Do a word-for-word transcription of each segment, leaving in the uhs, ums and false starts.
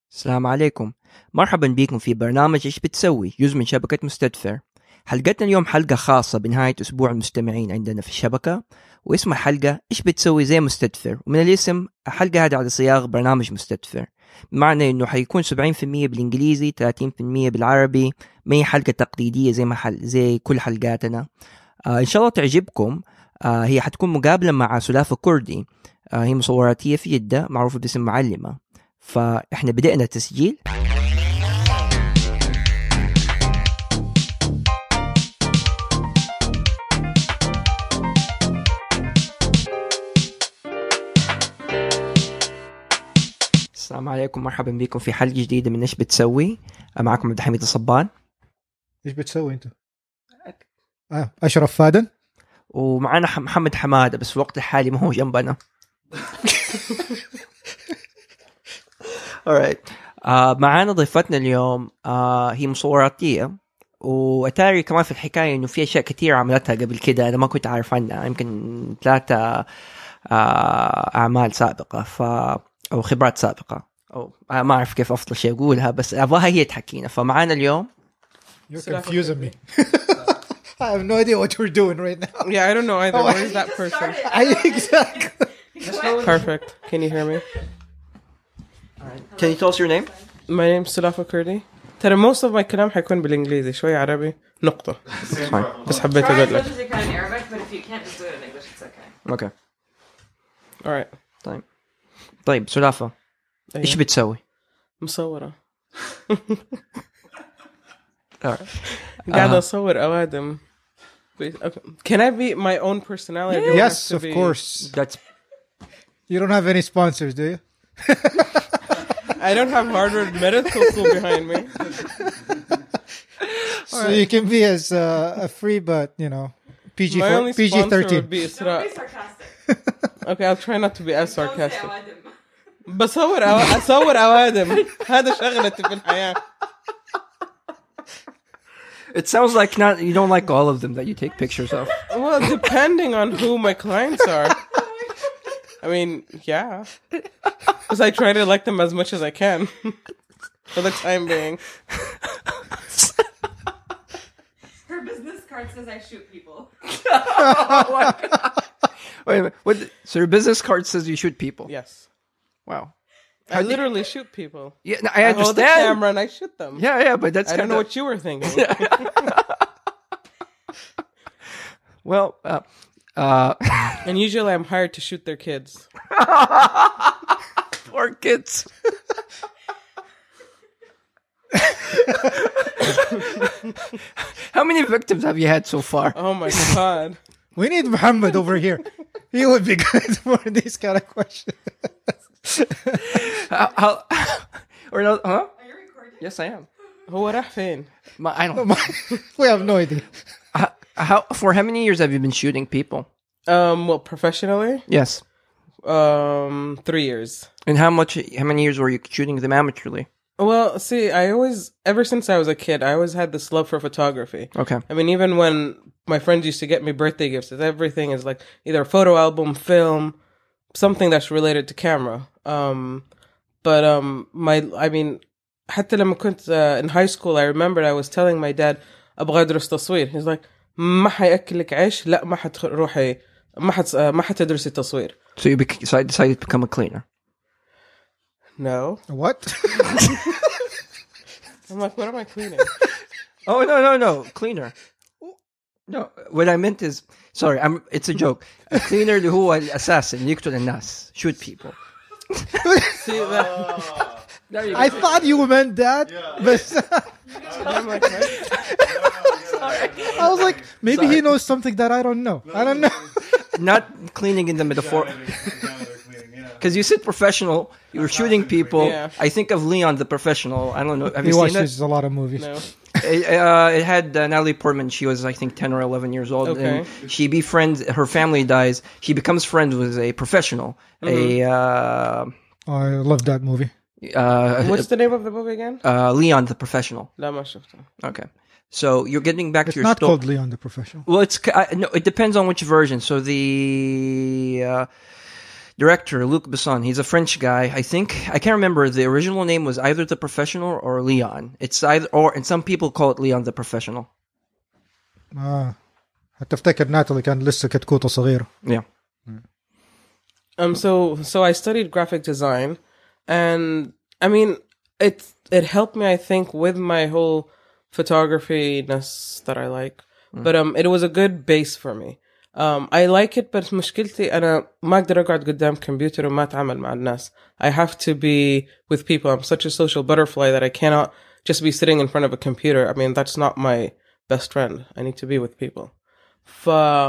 السلام عليكم. مرحبا بكم في برنامج إيش بتسوي، جزء من شبكة مستدفر. حلقتنا اليوم حلقة خاصة بنهاية أسبوع المستمعين عندنا في الشبكة، واسم الحلقة إيش بتسوي زي مستدفر، ومن الاسم الحلقة هذه على صياغ برنامج مستدفر، بمعنى إنه حيكون سبعين في المية بالإنجليزي ثلاثين في المية بالعربي. ما هي حلقة تقليدية زي ما حل زي كل حلقاتنا. آه إن شاء الله تعجبكم. آه هي حتكون مقابلة مع سلافة كردي. آه هي مصوراتية في جدة معروفة باسم معلمة. فإحنا بدأنا تسجيل. السلام عليكم، مرحبا بكم في حلقة جديدة من إيش بتسوي. معكم عبد الحميد الصبان. إيش بتسوي أنت؟ آه أشرف فادن. ومعنا محمد حمادة، بس في الوقت الحالي ما هو جنبنا. alright. آه معانا ضيفتنا اليوم. آه هي مصوراتية، وأتاري كمان في الحكاية إنه في أشياء كتير عملتها قبل كده أنا ما كنت أعرف عنها، يمكن ثلاثة آه أعمال سابقة ف أو خبرات سابقة، أو آه ما أعرف كيف أفضل شيء أقولها، بس أبغاها هي تحكينا. فمعانا اليوم. You're confusing me. I have no idea what you're doing right now. Yeah, I don't know either. Where is that person? I, exactly. Perfect. Can you hear me? Alright. Can you tell us your name? My name's Sulafa Kurdi. ترى most of my كلام حيكون بالإنجليزي، شوي عربي نقطة. بس حبيت أقول لك. Try as much as you can in Arabic, but if you can't just do it in English, it's okay. Okay. All right. طيب طيب سلافة، إيش بتسوي؟ مصورة. Alright. قاعدة أصور أوادم. Can I be my own personality? Yeah. Yes, of be... course. That's. You don't have any sponsors, do you? I don't have Harvard Medical School behind me. So right. You can be as uh, a free, but you know, P G my only P G thirteen. Would be Don't be sarcastic. Okay, I'll try not to be as sarcastic. بصور أو... أصور أوادم. هذا شغلتي في الحياة. It sounds like not you don't like all of them that you take pictures of. Well, depending on who my clients are. I mean, yeah. Because I try to like them as much as I can. For the time being. Her business card says I shoot people. Oh my God. Wait a minute. What, so your business card says you shoot people? Yes. Wow. I How literally you... shoot people. Yeah, no, I, I understand. hold the camera and I shoot them. Yeah, yeah, but that's I kinda... don't know what you were thinking. Well, uh, uh... and usually I'm hired to shoot their kids. Poor kids. How many victims have you had so far? Oh my God. We need Muhammad over here. He would be good for these kind of questions. how, how, or no, huh? Are you recording? Yes, I am. هو راح فين? My, I don't. We have no idea. How, how for how many years have you been shooting people? Um, well, professionally? Yes. Um, three years. And how much? How many years were you shooting them amateurly? Well, see, I always, ever since I was a kid, I always had this love for photography. Okay. I mean, even when my friends used to get me birthday gifts, everything is like either a photo album, film, something that's related to camera. Um, but um, my, I mean, حتى لما كنت uh, in high school, I remembered I was telling my dad, أبغى أدرس تصوير. He's like, ما حيأكلك عيش، لا ما حتروحي، ما حت ما حتدرسي تصوير. So you bec- so I decided to become a cleaner. No. What? I'm like, what am I cleaning? Oh no no no cleaner. No, what I meant is, sorry, I'm. It's a joke. A cleaner اللي هو الأساسن يقتل الناس, shoot people. See that? I thought you meant that, yeah. But I'm like, right? I was like, maybe sorry. He knows something that I don't know. I don't know. Not cleaning in the metaphor. Because you said professional, you were shooting people. Yeah. I think of Leon the Professional. I don't know. Have he you seen it? He watches a lot of movies. No. It, uh, it had uh, Natalie Portman. She was, I think, ten or eleven years old. Okay. And she befriends, her family dies. She becomes friends with a professional. Mm-hmm. A. Uh, oh, I love that movie. Uh, What's the name of the movie again? Uh, Leon the Professional. لا ما شفته. Okay. So you're getting back it's to your not sto- called Leon the Professional. Well, it's uh, no. It depends on which version. So the uh, director Luc Besson. He's a French guy. I think I can't remember. The original name was either The Professional or Leon. It's either or, and some people call it Leon the Professional. آه. هتفتكر ناتالي كان لسه كتكوتة صغيرة. Yeah. Um. So so I studied graphic design, and I mean it it helped me, I think, with my whole photography-ness that I like. Mm. But um, it was a good base for me. Um, I like it, but مشكلتي أنا ما أقدر أقعد قدام كمبيوتر وما أتعامل مع الناس. I have to be with people. I'm such a social butterfly that I cannot just be sitting in front of a computer. I mean, that's not my best friend. I need to be with people. ف,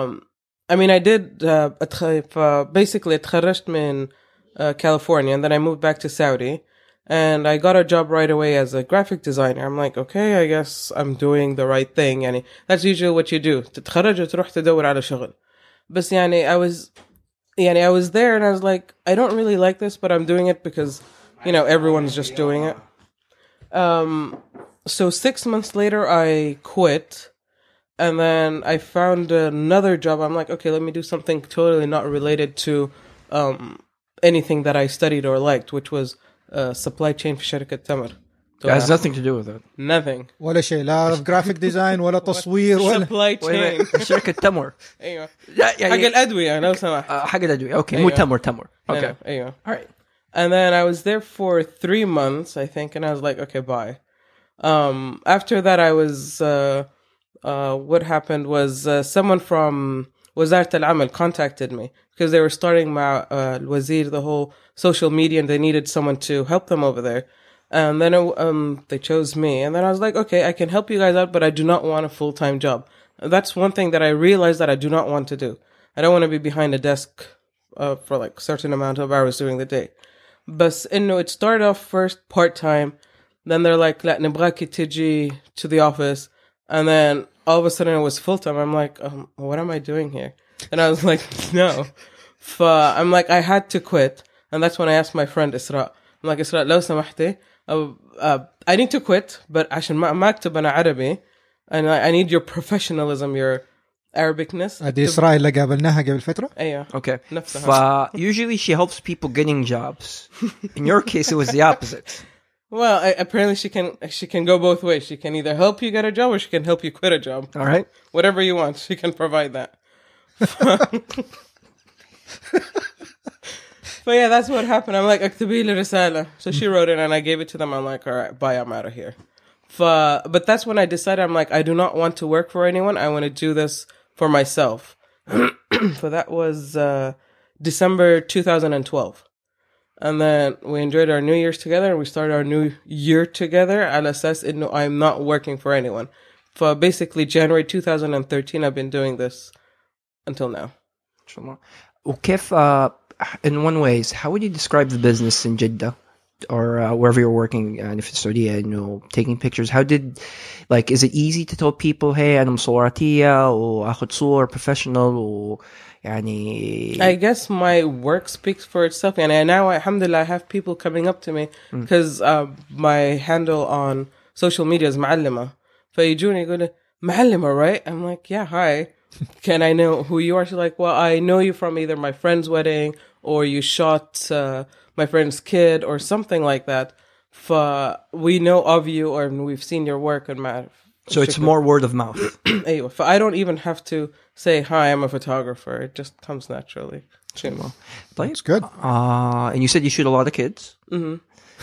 I mean, I did, uh, basically اتخرجت من uh, California, and then I moved back to Saudi, and I got a job right away as a graphic designer. I'm like, okay, I guess I'm doing the right thing. يعني that's usually what you do. تتخرج وتروح تدور على شغل. بس يعني I was, يعني I was there, and I was like, I don't really like this, but I'm doing it because, you know, everyone's just doing it. Um, so six months later, I quit. And then I found another job. I'm like, okay, let me do something totally not related to um, anything that I studied or liked, which was uh, supply chain في شركة تمر. It has nothing to do with it. Nothing. ولا شيء لا graphic design ولا تصوير ولا supply chain. شركة تمر. أيوة. يعني حق الأدوية لو سمحت. حق الأدوية. Okay, مو تمر تمر. Okay. أيوة. All right. And then I was there for three months, I think, and I was like, okay, bye. Um, after that, I was. Uh, Uh, what happened was uh, someone from وزارة العمل contacted me because they were starting مع uh, الوزير the whole social media, and they needed someone to help them over there. And then it, um, they chose me, and then I was like, okay, I can help you guys out, but I do not want a full-time job. That's one thing that I realized that I do not want to do. I don't want to be behind a desk uh, for like a certain amount of hours during the day. But you know, it started off first part-time, then they're like, لا نبغاك تجي to the office. And then all of a sudden it was full time. I'm like, um, what am I doing here? And I was like, no. F- I'm like, I had to quit. And that's when I asked my friend Isra. I'm like, Isra, لو سمحتي, uh, uh, I need to quit, but عشان ما ما أكتب أنا عربي, and I, I need your professionalism, your Arabicness. هذه إسراء اللي قابلناها قبل فترة. أيوة. Okay. نفسها. ف- usually she helps people getting jobs. In your case, it was the opposite. Well, I, apparently she can she can go both ways. She can either help you get a job or she can help you quit a job. All right. Whatever you want, she can provide that. But yeah, that's what happened. I'm like, اكتبي لي رسالة. So she wrote it and I gave it to them. I'm like, all right, bye, I'm out of here. But that's when I decided, I'm like, I do not want to work for anyone. I want to do this for myself. So that was uh, December two thousand twelve. And then we enjoyed our New Year's together, and we started our new year together. على أساس إنه I'm not working for anyone. For basically January two thousand thirteen, I've been doing this until now. inshallah. وكيف uh, in one ways, how would you describe the business in Jeddah or uh, wherever you're working يعني في السعودية, you know, taking pictures? How did, like, is it easy to tell people, hey, أنا مصوراتية وأخذ صور professional و يعني... I guess my work speaks for itself, and now, alhamdulillah, I have people coming up to me because mm. uh, my handle on social media is معلمة. فيجوني يقولوا معلمة, right? I'm like, yeah, hi. Can I know who you are? She's like, well, I know you from either my friend's wedding or you shot uh, my friend's kid or something like that. ف we know of you or we've seen your work and matter. So it's more word of mouth. أيوة. I don't even have to say, hi, I'm a photographer. It just comes naturally. Well, that's good. Uh, and you said you shoot a lot of kids? Mm-hmm.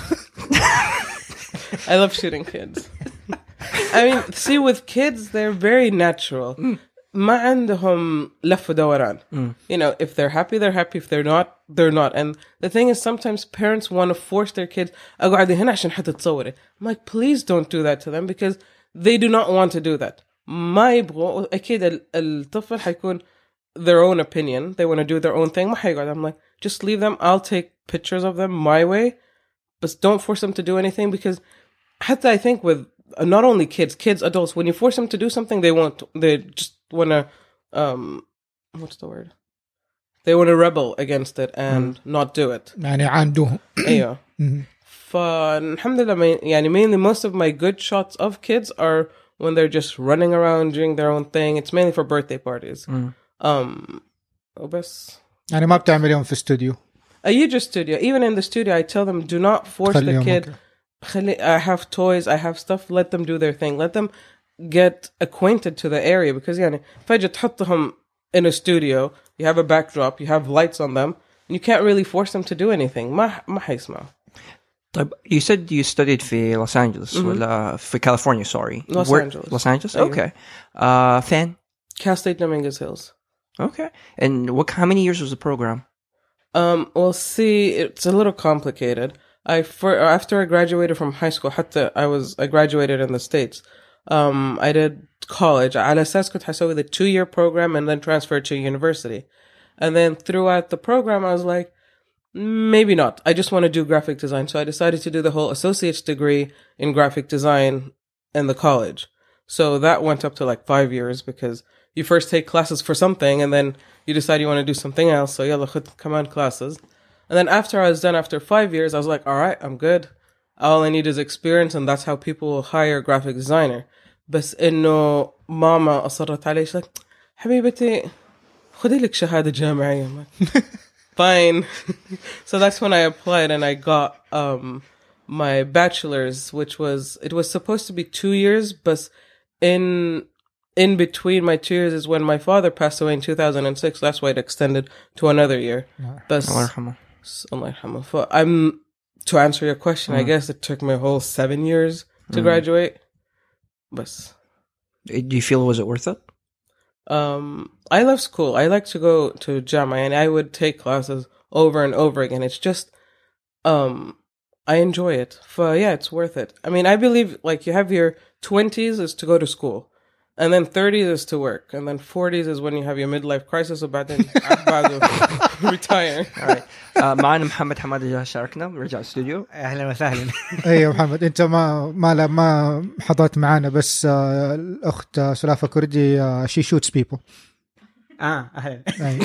I love shooting kids. I mean, see, with kids, they're very natural. Mm. ما عندهم لف ودوران. Mm. You know, if they're happy, they're happy. If they're not, they're not. And the thing is, sometimes parents want to force their kids. أقعدي هنا عشان حتتصوري. I'm like, please don't do that to them because they do not want to do that. ما يبغوا أكيد الطفل حيكون their own opinion. They want to do their own thing. ما حيقعد. I'm like, just leave them. I'll take pictures of them my way, but don't force them to do anything because حتى I think with uh, not only kids, kids, adults, when you force them to do something, they won't. They just want to, um, what's the word? They want to rebel against it and mm. not do it. يعني عندهم. أيوة. فالحمد لله, يعني mainly most of my good shots of kids are when they're just running around doing their own thing. It's mainly for birthday parties. Mm. Um, وبس. يعني ما بتعمليهم في استوديو. A Yuja studio. Even in the studio, I tell them, do not force the خليهم kid. أوكي. خلي- I have toys, I have stuff. Let them do their thing. Let them get acquainted to the area. Because يعني فجأة تحطهم in a studio, you have a backdrop, you have lights on them, and you can't really force them to do anything. ما ما حيسمعوا. طيب you said you studied في Los Angeles ولا في California sorry Los Where- Angeles. Los Angeles أيوة. okay uh, فين Cal State Dominguez Hills. okay and what how many years was the program Um, well, see, it's a little complicated. I for, after I graduated from high school, حتى I was I graduated in the States. Um, I did college. على أساس كنت حسوي the two-year program and then transferred to university. And then throughout the program, I was like, maybe not. I just want to do graphic design. So I decided to do the whole associate's degree in graphic design in the college. So that went up to like five years because you first take classes for something and then you decide you want to do something else. So yalla khud kaman classes. And then after I was done after five years, I was like, all right, I'm good. All I need is experience, and that's how people will hire a graphic designer. بس إنه ماما أصرت علي. She's like, حبيبتي خدي لك شهادة جامعية. Fine. So that's when I applied and I got um my bachelor's, which was it was supposed to be two years, but in in between my two years is when my father passed away in two thousand six. That's why it extended to another year. But الله يرحمه Allah yarhamah. For I'm to answer your question, I guess it took me a whole seven years to graduate. But do you feel was it worth it um, I love school. I like to go to Jama and I would take classes over and over again. It's just um, I enjoy it. For yeah, it's worth it. I mean, I believe like you have your twenties is to go to school. And then thirties is to work. And then forties is when you have your midlife crisis about then retire. all right uh, معنا محمد حمادة جاء شاركنا رجع الاستوديو اهلا وسهلا. ايوه محمد انت ما ما لا ما حضرت معنا بس آه الاخت آه سلافة كردي آه she shoots people اه اهلا.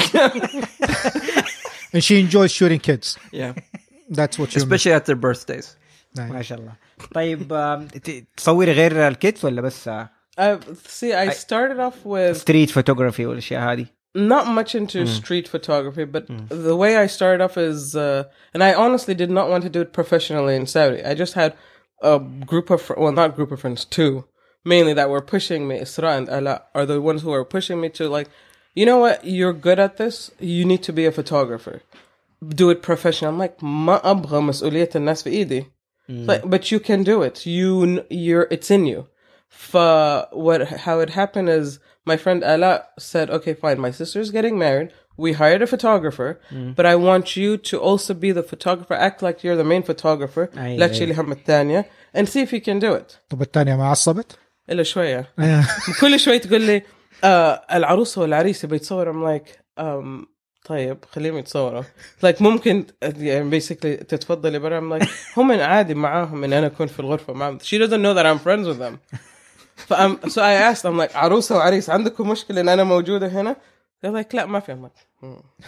and she enjoys shooting kids yeah that's what you especially at their birthdays ما شاء الله. طيب آم، ت- تصوري غير الكيدز ولا بس Uh, see, I started off with ستريت فوتوغرافي والاشياء هذه؟ not much into street photography, but the way I started off is, uh, and I honestly did not want to do it professionally in Saudi. I just had a group of, fr- well, not group of friends, two, mainly that were pushing me. Isra and Ala are the ones who are pushing me to like, you know what, you're good at this, you need to be a photographer. Do it professionally. I'm like, ما أبغى مسؤولية الناس في إيدي. Like, but you can do it. You, you're, it's in you. For what, how it happened is my friend Ala said, okay, fine, my sister's getting married. We hired a photographer, but I want you to also be the photographer. Act like you're the main photographer. أي لا أي. تشيلي هم الثانية and see if you can do it. طب الثانية ما عصبت إلا شوية. كل شوي تقول لي آه العروسة والعريس بيتصور. I'm like um, طيب خليهم يتصوروا. Like ممكن يعني basically تتفضلي برا. I'm like هم عادي معاهم إن أنا أكون في الغرفة معهم. She doesn't know that I'm friends with them. فأم, so I asked, I'm like, عروسة وعريس عندكم مشكلة إن أنا موجودة هنا؟ They're like, لا ما في. I'm like,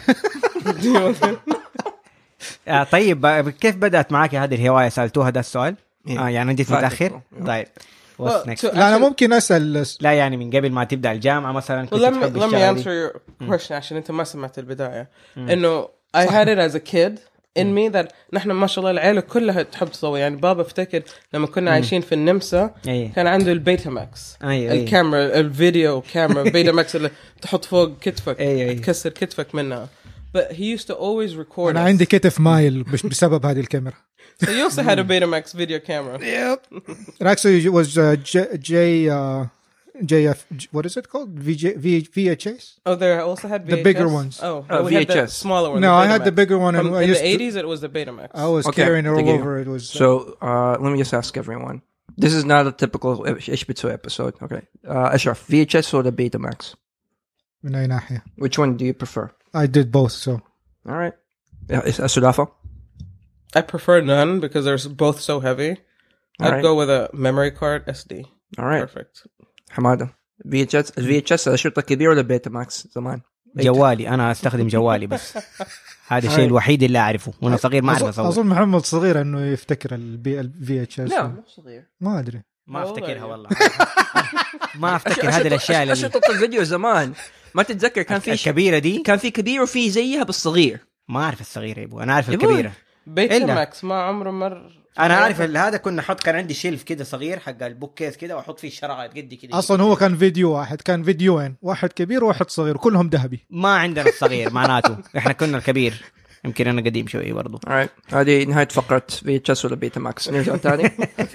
آه طيب آه، كيف بدأت معك هذه الهواية؟ سألتوها ده السؤال؟ إيه. اه يعني جيت بعد متأخر؟ الفطور. طيب Well, what's next؟ to لا أنا actually- ممكن أسأل لا يعني من قبل ما تبدأ الجامعة مثلا Well, كنت let me, تحب let me الشغلة answer دي؟ your question عشان أنت ما سمعت البداية. إنه I had it as a kid in me that نحن ما شاء الله العيلة كلها تحب تصور. يعني بابا افتكر لما كنا عايشين في النمسا أيه. كان عنده البيتا ماكس. أيه أيه. الكاميرا الفيديو كاميرا بيتا ماكس اللي تحط فوق كتفك أيه أيه. تكسر كتفك منها. But he used to always record أنا us. عندي كتف مايل بش- بسبب هذه الكاميرا. So you also had a Betamax video camera. Yep. It actually was uh, J, J, uh, J F, what is it called? V J, v, VHS? Oh, there I also had V H S? The bigger ones. Oh, Uh, no, we had the V H S. smaller one. No, the I had the Betamax. bigger one. And From, I in used the to, eighties, it was the Betamax. I was Okay, carrying it all تقيلة. over. It was. Uh, so uh, let me just ask everyone this is not a typical إيش بتسوي episode okay uh, أشرف V H S or the Betamax من أي ناحية? which one do you prefer I did both, so. all right السلافة I prefer none because they're both so heavy. I'd right. go with a memory card S D. all right Perfect. حمادة V H S ال V H S الشرطة كبيرة ولا بيتاماكس زمان جوالي أنا أستخدم جوالي بس. هذا الشيء الوحيد اللي أعرفه وأنا صغير ما أعرف أظن, أصور. أظن محمد صغير إنه يفتكر البي ال في اتش اس. لا مو صغير ما أدري. ما والله أفتكرها يعني. والله. ما أفتكر هذه الأشياء اللي أشرطة الفيديو زمان ما تتذكر كان في ش- الكبيرة دي. كان في كبير وفي زيها بالصغير ما أعرف الصغيرة يبو، أنا أعرف يبوي. الكبيرة. بيت إلا. ماكس ما عمره مر. أنا أعرف هذا كنا نحط، كان عندي شيلف كده صغير حق البوك كيس كده وأحط فيه الشرعات قدي كده. اصلا هو كان فيديو واحد، كان فيديوين، واحد كبير وواحد صغير كلهم ذهبي. ما عندنا الصغير معناته إحنا كنا الكبير. يمكن أنا قديم شوي برضو. Alright. هذه نهاية فقرة في اتش اس ولا بيتا ماكس. نرجع تاني.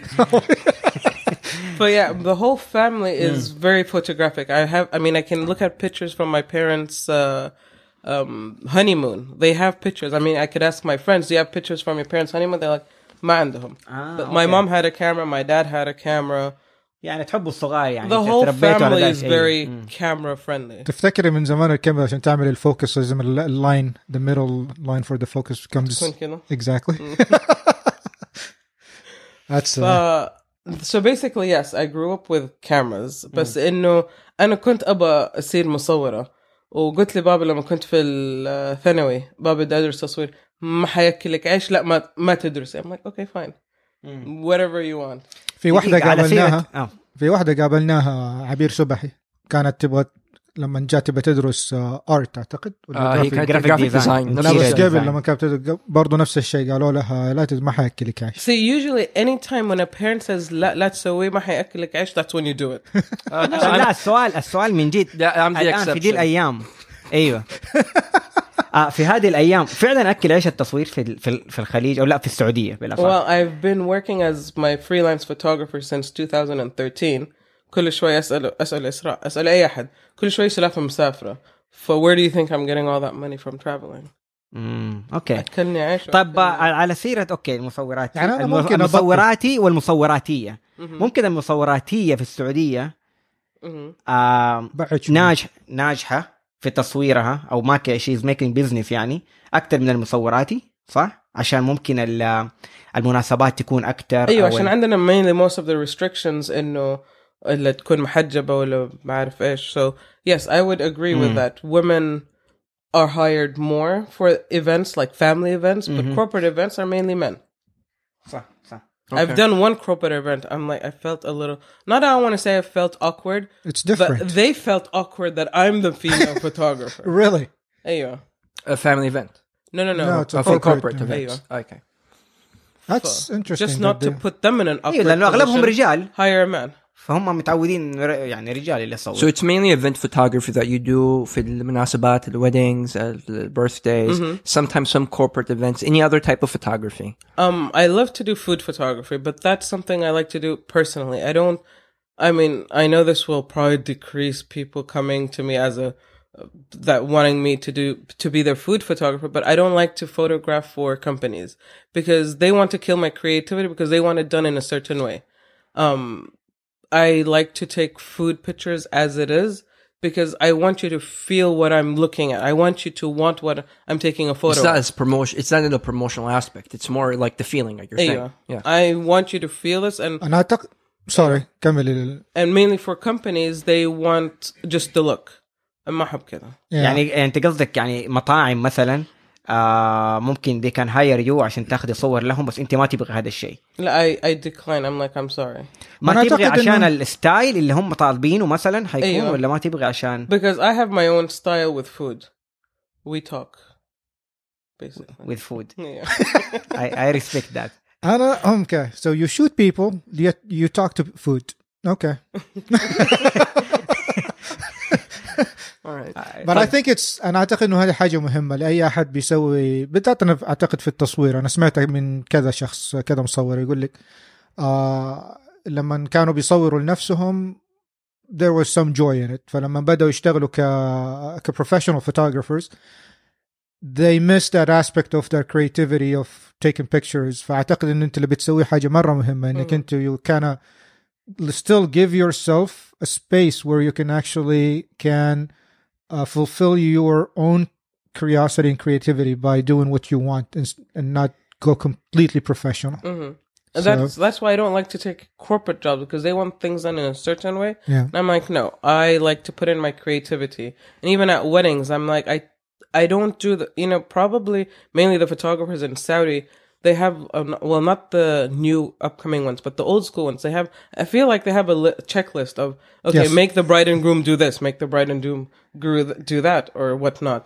But yeah, the whole family is very photographic. I have, I mean, I can look at pictures from my parents' uh, um, honeymoon. They have pictures. I mean, I could ask my friends, do you have pictures from your parents' honeymoon? They're like, ما عندهم. Ah, But my okay. mom had a camera, my dad had a camera. يعني تحبوا الصغار يعني. The whole تربيتوا على family ذا is الشيء. very مم. camera friendly. تفتكري من زمان الكاميرا عشان تعمل الفوكس لازم اللاين the middle line for the focus comes تكون كده. exactly. That's uh, Uh, so basically, yes, I grew up with cameras. بس إنه أنا كنت أبى أصير مصورة. وقلت لي بابا لما كنت في الثانوي، بابا بدي أدرس تصوير، ما حياكلك عيش، لا ما ما تدرس. I'm like, okay, fine. Whatever you want. في واحدة على قابلناها سيرة- آه. في واحدة قابلناها عبير سبحي، كانت تبغى لما جات تبغى تدرس ارت اعتقد ولا آه هي graphic. كانت graphic جرافيك design. ديزاين. لا بس design. قبل لما كانت تدرس برضو نفس الشيء، قالوا لها لا تز- ما حياكلك عيش. See, usually anytime when a parent says لا لا تسوي ما حياكلك عيش, that's when you do it. لا السؤال السؤال من جد. Yeah, I'm the الآن في دي exception. الأيام. أيوة. آه في هذه الأيام فعلا أكل عيش التصوير في ال- في ال- في الخليج أو لا في السعودية بالأفضل. Well, I've been working as my freelance photographer since two thousand thirteen. كل شوي أسأل أسأل إسراء أسأل أي أحد كل شوي سلافة مسافرة. So where do you think I'm getting all that money from traveling? امم اوكي. أكلني عيش. طب على سيرة اوكي المصورات، يعني أنا الم- ممكن أبطل. المصوراتي والمصوراتية. ممكن المصوراتية في السعودية آه بعد شوي. ناجح ناجحة في تصويرها او ما شيء ميكينج بزنس يعني اكثر من المصوراتي، صح؟ عشان ممكن ال- المناسبات تكون اكثر. أيوة أو عشان ال- عندنا mainly most of the restrictions إنه اللي تكون محجبة ولا ما أعرف إيش. So yes, I would agree with that. Women are hired more for events like family events, but corporate events are mainly men. صح صح. I've done one corporate event. I'm like, I felt a little, not that I want to say I felt awkward, It's different. but they felt awkward that I'm the female photographer. Really? أيوة. A family event. No, no, no. No, it's a Uh, for corporate corporate event. events. Okay. That's interesting. Just not that to they- put them in an awkward ايوه لانه اغلبهم position. رجال Hire a man. فهم متعودين ر- يعني رجال اللي يصوروا. So it's mainly event photography that you do في المناسبات, the weddings, uh, the birthdays, sometimes some corporate events, any other type of photography. Um, I love to do food photography, but that's something I like to do personally. I don't, I mean, I know this will probably decrease people coming to me as a, uh, that wanting me to do, to be their food photographer, but I don't like to photograph for companies because they want to kill my creativity because they want it done in a certain way. Um, I like to take food pictures as it is because I want you to feel what I'm looking at. I want you to want what I'm taking a photo It's not of. as promotion. It's not in the promotional aspect. It's more like the feeling, like you're saying. أيوة. Yeah. I want you to feel this, and أنا أعتقد sorry كمل. and mainly for companies they want just the look. ما أحب كذا. يعني انت قصدك يعني مطاعم مثلا آه ممكن they can hire you عشان تاخذي صور لهم بس انت ما تبغي هذا الشيء. لا I I decline. I'm like I'm sorry ما أنا تبغي أعتقد عشان إنه- الستايل اللي هم طالبينه مثلا حيكون أيوة. ولا ما تبغي عشان because I have my own style with food. We talk basically. with food. Yeah. I, I respect that. أنا okay. So you shoot people, yet you talk to food. Okay. All right. But I think it's أنا أعتقد إنه هذه حاجة مهمة لأي أحد بيسوي بالذات. أنا أعتقد في التصوير أنا سمعت من كذا شخص كذا مصور يقول لك آه لما كانوا بيصوروا لنفسهم there was some joy in it. فلما بدأوا يشتغلوا ك ك professional photographers they miss that aspect of their creativity of taking pictures. فأعتقد إن أنت اللي بتسوي حاجة مرة مهمة إنك أنت you can still give yourself a space where you can actually can uh, fulfill your own curiosity and creativity by doing what you want and, and not go completely professional. Mm-hmm. And So- that's that's why I don't like to take corporate jobs because they want things done in a certain way. Yeah. And I'm like, no, I like to put in my creativity. And even at weddings, I'm like, I I don't do the, you know, probably mainly the photographers in Saudi, they have, um, well, not the new upcoming ones, but the old school ones. They have, I feel like they have a li- checklist of, okay, Yes. make the bride and groom do this, make the bride and groom gru- do that, or whatnot.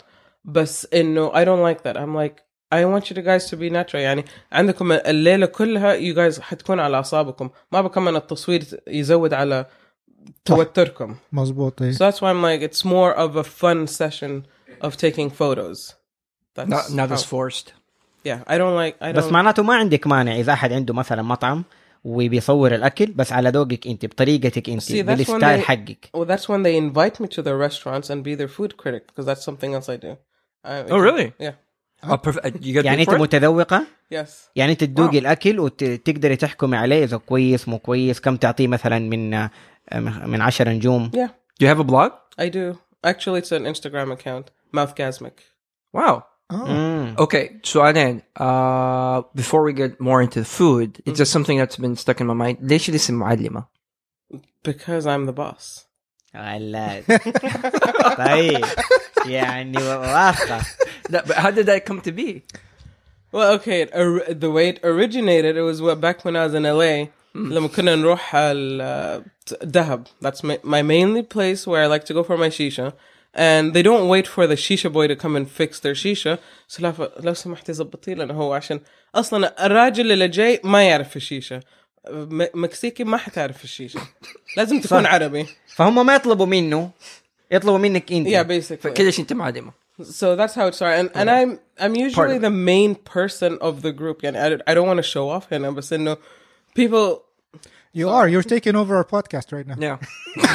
بس إنه I don't like that. I'm like I want you guys to be natural. يعني عندكم الليلة كلها you guys حتكون على أعصابكم. ما بكمل التصوير يزود على توتركم. مظبوط. So that's why I'm like it's more of a fun session of taking photos. That's not, not as how, forced. Yeah, I don't like I don't بس معناته ما عندك مانع إذا أحد عنده مثلا مطعم وبيصور الأكل بس على ذوقك أنت بطريقتك أنت See, that's when بالستايل they- حقك. Well, that's when they invite me to their restaurants and be their food critic because that's something else I do. I, Oh, really? Yeah. Oh, perf- you get يعني paid أنت for it? متذوقة Yes. يعني أنت تذوقي Wow. الأكل وتقدري تحكمي عليه إذا كويس مو كويس كم تعطيه مثلا من من عشر نجوم. Yeah, Do you have a blog? I do. Actually, it's an Instagram account, Mouthgasmic. Wow. آه. مم. Okay, سؤالين. Uh, before we get more into the food, it's just something that's been stuck in my mind. ليش الاسم معلمة؟ Because I'm the boss. غلاد. طيب يعني واضحة. لا, but how did that come to be? Well, okay, it, or, the way it originated, it was what, back when I was in L A. لما كنا نروح al Dahab. That's my, my mainly place where I like to go for my shisha. And they don't wait for the shisha boy to come and fix their shisha. So لو لو سمحتي زبطي لنا هو عشان أصلاً الراجل اللي جاي ما يعرف الشيشة. م- مكسيكي ما حتعرف الشيشة. لازم تكون عربي. فهم ما يطلبوا منه يطلبوا منك أنت. Yeah, basically. فكده عشان انت معلمة. So that's how it started. And, and I'm I'm usually of the main person of the group. يعني I, I don't want to show off هنا بس إنه people. You are. You're taking over our podcast right now. Yeah.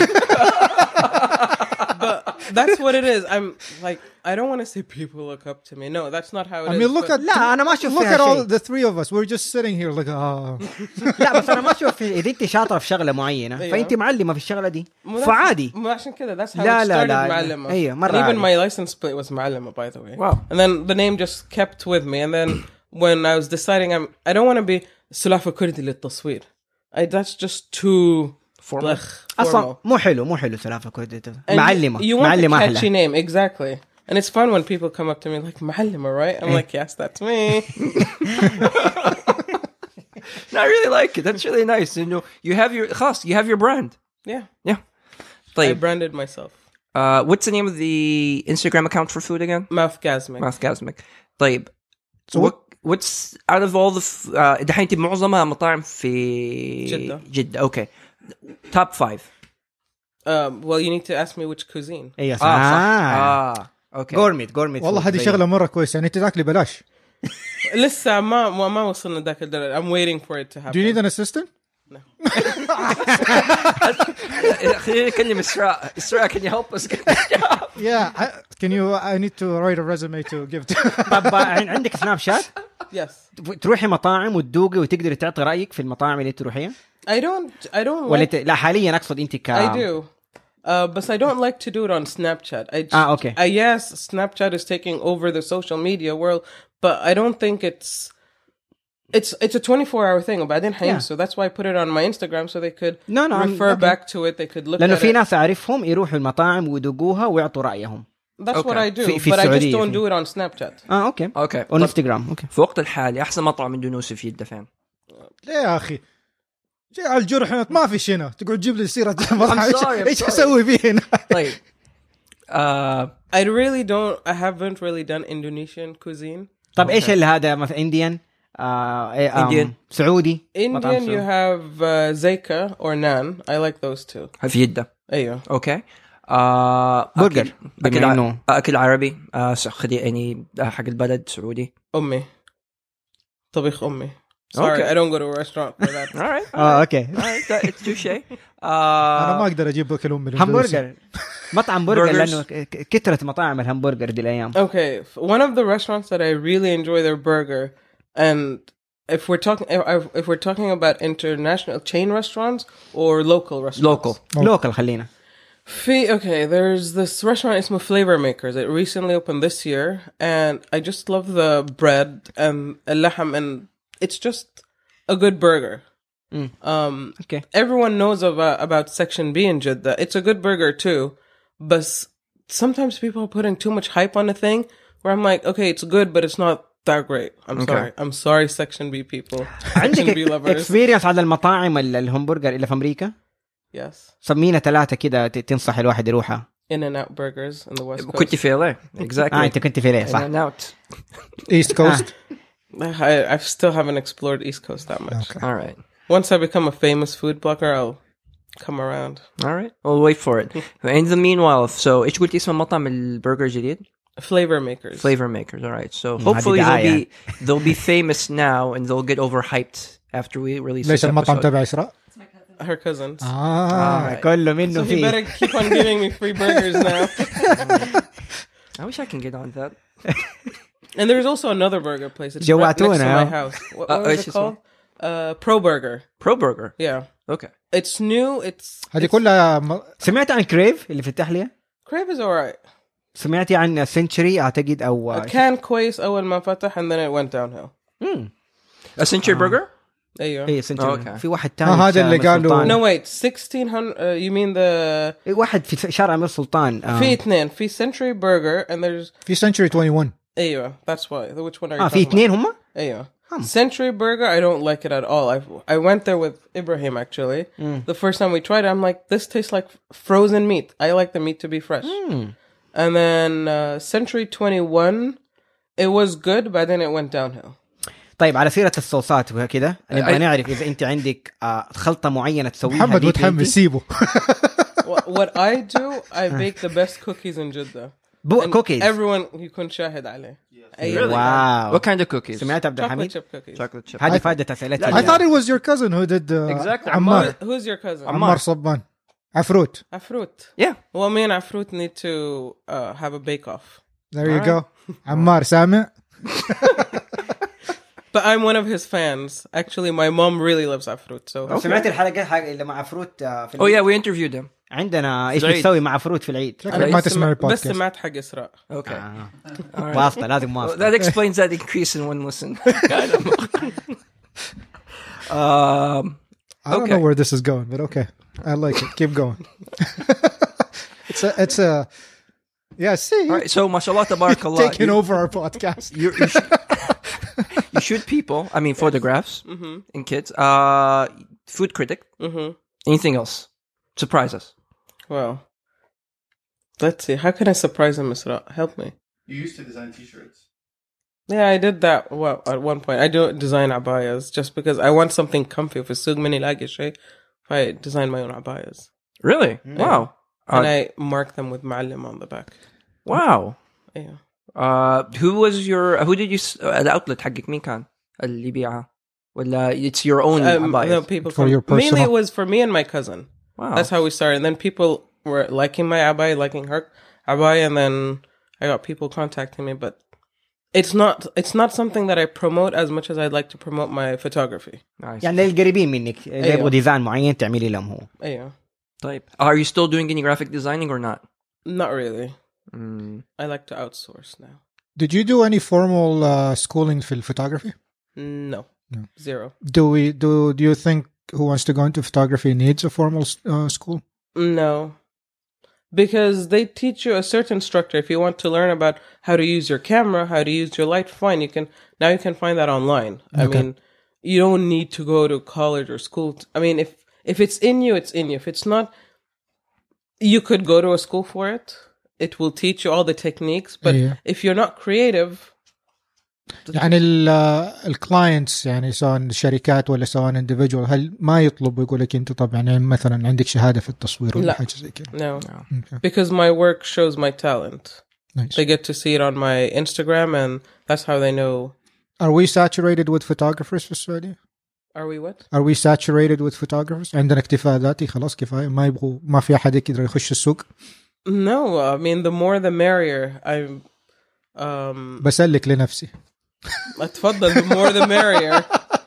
But that's what it is. I'm like I don't want to say people look up to me. No, that's not how it I is. mean, look but- at لا أنا ما أشوف look فيها at all شيء. the three of us. We're just sitting here like, ah. لا بس أنا ما أشوف في- إذا أنت شاطرة في شغلة معينة أيوة. فأنت معلمة في الشغلة دي مو that's- فعادي. مو عشان كده. That's how لا it لا started. لا. معلمة. أيوة، مرة And even عادي. my license plate was معلمة, by the way. Wow. And then the name just kept with me. And then when I was deciding, I'm I don't want to be سلافة كردي للتصوير. I that's just too Formal. blech, أصلا formal. مو حلو مو حلو سلافة كردي. And معلمة You want معلمة a catchy أحلى. name, exactly. And it's fun when people come up to me like, معلمة, right? I'm like, yes, that's me. No, I really like it. That's really nice. You know, you have your خلاص, you have your brand. Yeah. Yeah. I طيب. branded myself. Uh, what's the name of the Instagram account for food again? Mouthgasmic. Mouthgasmic. طيب. So what what's out of all the f- uh, دحين انت معظمها مطاعم في جدة. جدة. Okay. Top five. Um, well, you need to ask me which cuisine. أيوة صح. اه صح. آه. اه اوكي. جورميت جورميت. والله هذه شغلة مرة كويسة يعني تاكلي بلاش. لسه ما ما ما وصلنا ذاك الدرجة. I'm waiting for it to happen. Do you need an assistant? خلينا نكلم إسراء. إسراء, can you help us? Yeah. I, can you? I need to write a resume to give to. طب عندك سناب شات Yes. تروحي مطاعم وتذوقي وتقدري تعطي رأيك في المطاعم اللي تروحيها I don't. I don't ولا like. ت... لا حاليا أقصد أنت ك I do. Uh, but I don't like to do it on Snapchat. I just, Ah, okay. I yes, Snapchat is taking over the social media world, but I don't think it's it's it's a twenty-four hour thing. وبعدين حينسوا. So that's why I put it on my Instagram so they could No, no, I'm- refer okay. back to it. They could look لأنه at في it. ناس أعرفهم يروحوا المطاعم ويذوقوها ويعطوا رأيهم. That's what Okay. I do. في- في but I just السعودية don't في- do it on Snapchat. آه أوكي اوكي. أو انستغرام أوكي. في وقت الحالي احسن مطعم اندونيسي في جدة فين؟ ليه يا أخي؟ جاي على الجرح هنا ما في شنا تقعد تجيب لي سيرة مطعم. I'm sorry, I'm إيش sorry. أسوي فيه هنا؟ طيب. Uh, I really don't. I haven't really done Indonesian cuisine. طب إيش اللي هذا مثلا إنديان آه إيه، آم، Indian. سعودي مطعم Indian, you سعودي. have uh, Zeka or Naan. I like those two. في جدة. أيوه. اوكي. آه برجر. أكل, بما أكل, ع- إنه- أكل عربي. آه خدي يعني حق البلد سعودي. أمي. طبيخ أمي. Sorry, Okay. I don't go to a restaurant for that. All right. آه أوكي. All right. That, it's touche. أنا ما آه أقدر أجيب أكل أمي. همبرجر مطعم برجر Burgers. لأنه ك- ك- كثرة مطاعم الهمبرجر دي الأيام. Okay, f- one of the restaurants that I really enjoy their burger, and if we're talking if, if we're talking about international chain restaurants or local restaurants, local. لوكال خلينا. Fi- okay, there's this restaurant. It's Flavor Makers. It recently opened this year, and I just love the bread and اللحم, and it's just a good burger. Mm. Um, Okay. everyone knows about about Section B in Jeddah. It's a good burger too, but s- sometimes people are putting too much hype on a thing. Where I'm like, okay, it's good, but it's not that great. I'm Okay. sorry. I'm sorry, Section B people. Section عندك B lovers. اكسبيرينس على المطاعم ال- الهمبرجر اللي في أمريكا؟ Yes. صمينا ثلاثة كده ت- تنصح الواحد يروحها. In-N-Out burgers in the West Coast. كنت في إل إيه. Exactly. اه انت كنت في ليه صح؟ In and out. East Coast. I, I still haven't explored East Coast that much. Okay. All right. Once I become a famous food blogger, I'll come around. All right. We'll wait for it. In the meanwhile, so إيش قلت اسم المطعم البرجر الجديد؟ Flavor makers. Flavor makers. All right. So Mm, hopefully هذه they'll دعاية. be they'll be famous now and they'll get overhyped after we release ليش this المطعم episode. تبع إسراء؟ It's my cousin. Her cousins. آه. Right. كله منه So he better فيه. keep on giving me free burgers now. I wish I can get on that. And there's also another burger place. It's right جوعتونا. next to my house. What, what Uh, was which it is called? Uh, Pro Burger. Pro Burger. Yeah. Okay. It's new. It's هذه it's- كلها م- سمعت عن كريف اللي في التحلية؟ Crave is alright. سمعتي عن سنتشري اعتقد او كان كويس أول ما فتح and then it went downhill. امم A Century Burger? أيوه. اي سنتشري أوكي. في واحد تاني آه، هذا في اللي أمير قالوا- سلطان. No wait, sixteen hundred. Uh, you mean the إيه، واحد في شارع امير سلطان آه. في اثنين في Century Burger and there's في Century واحد وعشرين. أيوه. That's why. Which one are you اه في talking اثنين هم؟ about? أيوه. Century Burger, I don't like it at all. I I went there with Ibrahim actually. The first time we tried it, I'm like, this tastes like frozen meat. I like the meat to be fresh. And then uh, Century twenty-one, it was good, but then it went downhill. طيب على سيرة الصوصات وكذا نبغى I- نعرف إذا أنت عندك آه، خلطة معينة تسويها محمد ديك متحمس أنت. سيبه. what, what I do, I bake the best cookies in Jeddah. بو And كوكيز Everyone يكون شاهد عليه. أي Really? واو What kind of cookies? سمعت عبد chocolate الحميد chip cookies. Chocolate chip. هذه فائدة أسئلتي I thought it was your cousin who did uh, Exactly. عمار. Who- Who's your cousin? عمار صبان. عفروت. Afrut. Yeah. Well, me and Afrut need to uh, have a bake-off. There you go. عمار سامع. But I'm one of his fans. Actually, my mom really loves Afrut. So سمعت الحلقة حق اللي مع فروت آه، في Oh العيد؟ yeah, we interviewed them. عندنا ايش العيد. بتسوي مع فروت في العيد شكلك ما تسمع بس البودكاست. سمعت حق إسراء. Okay. آه. All right. واسطة لازم Well, واسطة that explains that increase in one listen. um, I don't Okay. know where this is going, but okay. I like it. Keep going. it's a, it's a, yeah, see, all right. So, mashallah, tabarakallah. taking you, over our podcast. You, you, shoot, you shoot people. I mean, photographs and kids. Uh, food critic. Mm-hmm. Anything else? Surprise us. Well, let's see. How can I surprise him, Isra? Help me. You used to design T-shirts. Yeah, I did that. Well, at one point, I do design abayas just because I want something comfy. If it's many lagish, I design my own abayas Really? Wow. and Uh, I mark them with Ma'allim on the back. wow. Yeah. Uh, who was your? Who did you? s- uh, the outlet حقك مين كان؟ اللي يبيعها؟ ولا it's your own Um, abayas? no, people For from- your personal- mainly it was for me and my cousin. Wow. That's how we started. And then people were liking my abaya, liking her abaya, and then I got people contacting me. But it's not it's not something that I promote as much as I'd like to promote my photography. Nice. يعني للقريبين منك إذا أيوة. يبغوا ديزاين معين تعملي لهم هو Yeah, طيب. Are you still doing any graphic designing or not? not really. Mm. I like to outsource now. Did you do any formal uh, schooling for photography? No, No. zero. Do we do? Do you think who wants to go into photography needs a formal uh, school? No, because they teach you a certain structure. If you want to learn about how to use your camera, how to use your light, fine. You can now you can find that online. I Okay. mean, you don't need to go to college or school. t- I mean, if if it's in you, it's in you. If it's not, you could go to a school for it. It will teach you all the techniques. But Yeah. if you're not creative, يعني الكلاينتس يعني سواء شركات ولا سواء individual هل ما يطلب يقول لك انت طبعا يعني مثلا عندك شهاده في التصوير ولا لا. حاجه زي كده؟ no, Okay. because my work shows my talent. Nice. They get to see it on my Instagram, and that's how they know. Are we saturated with photographers في السعوديه؟ Are we what? Are we saturated with photographers؟ عندنا اكتفاء ذاتي خلاص كفايه ما يبغوا ما في احد يقدر يخش السوق. No, I mean the more the merrier. I'm um بسلك لنفسي. اتفضل, the more the merrier.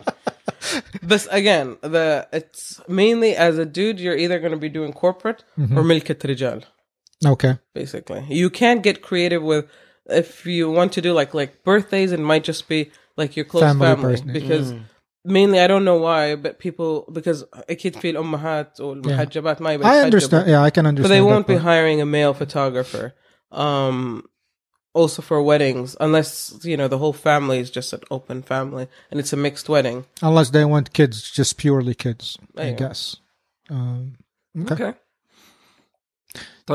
But again, the it's mainly as a dude you're either going to be doing corporate or ملكة رجال. Okay. Basically, you can't get creative with if you want to do like like birthdays. It might just be like your close Family family, birthday. because mainly I don't know why, but people because أكيد في الأمهات والمحجبات ما يبي I يتحجبوا. understand. Yeah, I can understand. But they won't that be part. hiring a male photographer. Um, also for weddings, unless, you know, the whole family is just an open family and it's a mixed wedding. Unless they want kids, just purely kids, I أيوة. guess. Um, okay. Okay. طب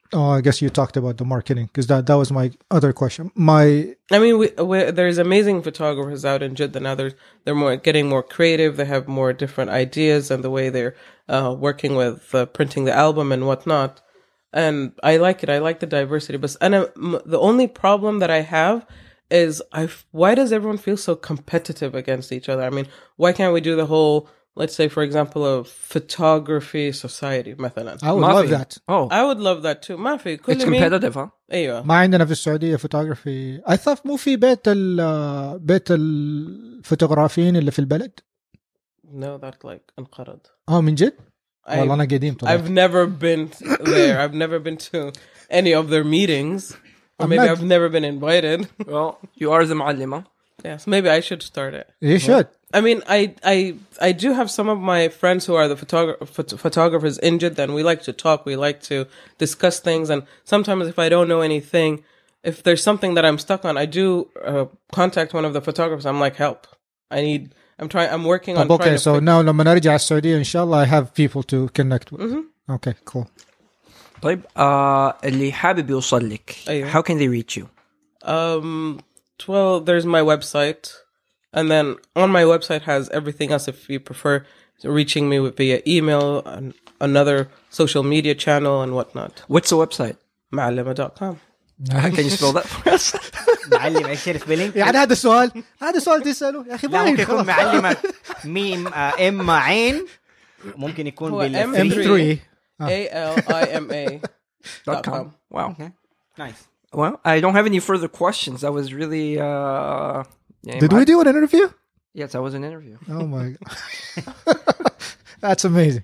Oh, I guess you talked about the marketing because that, that was my other question. My I mean, we, we, there's amazing photographers out in Jeddah now. They're, they're more getting more creative. They have more different ideas and the way they're uh, working with uh, printing the album and whatnot. And I like it. I like the diversity. But and uh, the only problem that I have is, I why does everyone feel so competitive against each other? I mean, why can't we do the whole, let's say, for example, a photography society, مثلا. I would ما love في. that. Oh, I would love that too. ما في it's كل مين. competitive, huh? أيوة. ما عندنا في السعودية فوتوغرافي. I thought مو في بيت ال بيت الفوتوغرافيين اللي في البلد. No, that like انقرض. اه من جد؟ I- والله أنا قديم طلعت. I've never been there. I've never been to any of their meetings. Or I'm maybe not- I've never been invited. Well, you are the معلمة. Yes, maybe I should start it. You should. I mean, I I I do have some of my friends who are the photogra- phot- photographers in Jeddah, and we like to talk. We like to discuss things, and sometimes if I don't know anything, if there's something that I'm stuck on, I do uh, contact one of the photographers. I'm like, help. I need. I'm trying. I'm working on. طب trying okay, to so fix- now لما نرجع السعودية إن شاء الله I have people to connect with. Okay, cool. طيب uh, اللي حابب يوصل لك, أيوة. how can they reach you? Um, well, there's my website, and then on my website has everything else. If you prefer reaching me with via email, and another social media channel, and whatnot. What's the website? معلمة dot com. Can you spell that for us? معلم ايش سبيلينج؟ يعني هذا السؤال هذا سؤال تسأله يا أخي لا باين ممكن يكون خلاص. معلمة ميم آه، ام عين ممكن يكون هو بال إم إم three. ثري. A L I M A Dot com. Wow. نايس. Well, I don't have any further questions. That was really. Uh, yeah, Did we do an interview? Yes, that was an interview. Oh my god. That's amazing.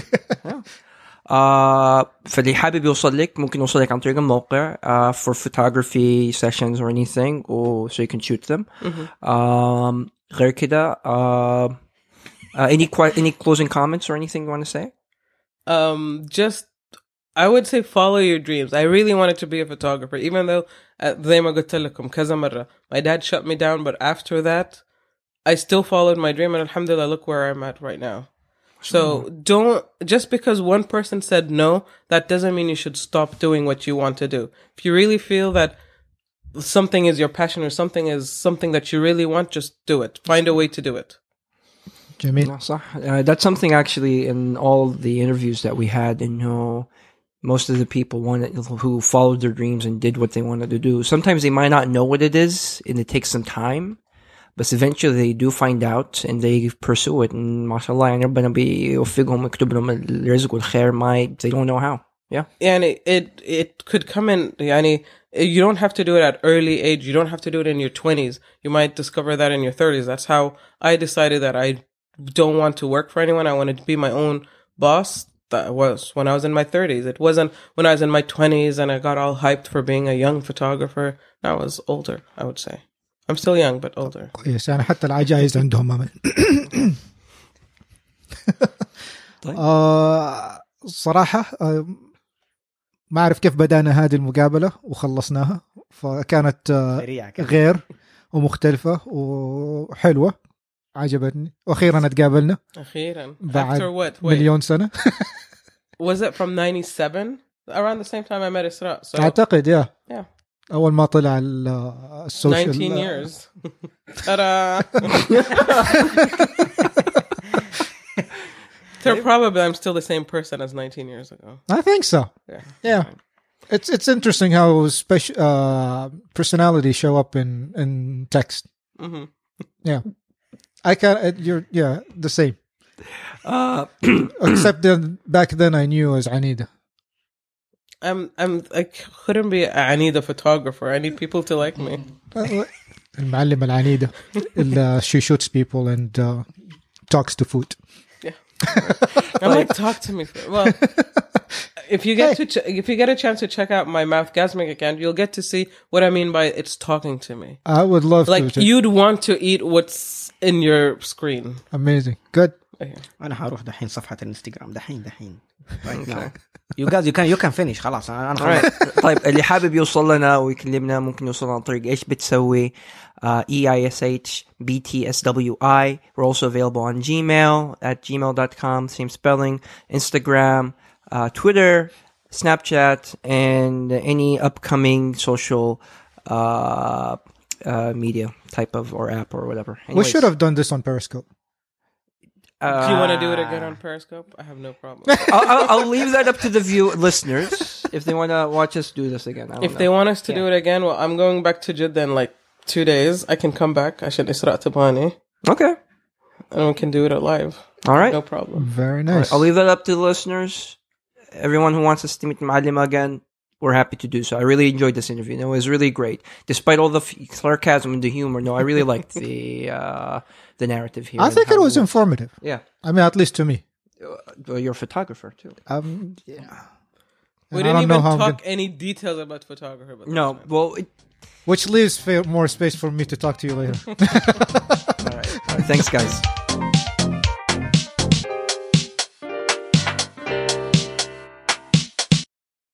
Uh, فاللي حابب يوصل لك ممكن يوصل لك عن طريق الموقع uh, for photography sessions or anything, or so you can shoot them. Um, غير كده, uh, uh, any que- any closing comments or anything you want to say? Um, just I would say follow your dreams. I really wanted to be a photographer, even though uh, زي ما قلت لكم كذا مرة my dad shut me down. But after that, I still followed my dream, and alhamdulillah, look where I'm at right now. So don't, just because one person said no, that doesn't mean you should stop doing what you want to do. If you really feel that something is your passion or something is something that you really want, just do it. Find a way to do it. جميل. No, صح. Uh, that's something actually in all the interviews that we had, and you know, most of the people wanted, who followed their dreams and did what they wanted to do. Sometimes they might not know what it is, and it takes some time. But eventually they do find out and they pursue it, and mashallah, يعني ربنا بيوفقهم ويكتب لهم الرزق والخير. ما they don't know how. Yeah. And it, it it could come in. Yani, you don't have to do it at early age. You don't have to do it in your twenties. You might discover that in your thirties. That's how I decided that I don't want to work for anyone. I wanted to be my own boss. That was when I was in my thirties. It wasn't when I was in my twenties and I got all hyped for being a young photographer. I was older, I would say. I'm still young, but older. كويس يعني حتى العجائز عندهم أمل. طيب. آه صراحة آه ما أعرف كيف بدأنا هذه المقابلة وخلصناها، فكانت آه سريعة كده. غير ومختلفة وحلوة، عجبتني، وأخيرا اتقابلنا أخيراً. بعد After what? Wait. مليون سنة. Was it from ninety-seven? Around the same time I met Isra. So أعتقد يا yeah. أول ما طلع ال- السوشيال. nineteen years. Ta-da! So probably I'm still the same person as nineteen years ago. I think so. Yeah. Yeah. It's it's interesting how special uh, personality show up in in text. hmm Yeah, I can. Uh, you're yeah the same. Uh, Except then back then I knew as Anida. I'm I'm I couldn't be. I need a photographer. I need people to like me. المعلم العنيدة. ال- She shoots people and uh, talks to food. I'm like, talk to me. For, well, if you get to ch- if you get a chance to check out my Mouthgasmic account, you'll get to see what I mean by it's talking to me. I would love Like to. you'd want to eat what's in your screen. Amazing. Good. Okay. انا هروح دحين صفحة الانستغرام دحين دحين. Right now. You guys you can you can finish خلاص انا أنا خلاص. Alright. طيب اللي حابب يوصل لنا ويكلمنا ممكن يوصل عن طريق ايش بتسوي uh, E I S H B T S W I. We're also available on Gmail at gmail dot com, same spelling, Instagram, uh, Twitter, Snapchat, and any upcoming social uh, uh, media type of or app or whatever. We Anyways, should have done this on Periscope. uh, Do you want to do it again on Periscope? I have no problem. I'll, I'll, I'll leave that up to the view listeners if they want to watch us do this again. I don't If know. they want us to Yeah. do it again, well, I'm going back to Jeddah in like two days. I can come back. عشان إسراء تبغاني. Okay. And we can do it live. All right. No problem. Very All nice. right, I'll leave that up to the listeners. Everyone who wants us to meet Ma'alima again, we're happy to do so. I really enjoyed this interview. No, it was really great. Despite all the f- sarcasm and the humor, no, I really liked the uh, the narrative here. I and think how it was works. informative. Yeah. I mean, at least to me. Well, you're a photographer, too. Um, yeah. We And I didn't don't know even how I'm talk gonna- any details about photography. But No, that's fine. well, it, Which leaves fa- more space for me to talk to you later. all right. All right. Thanks, guys.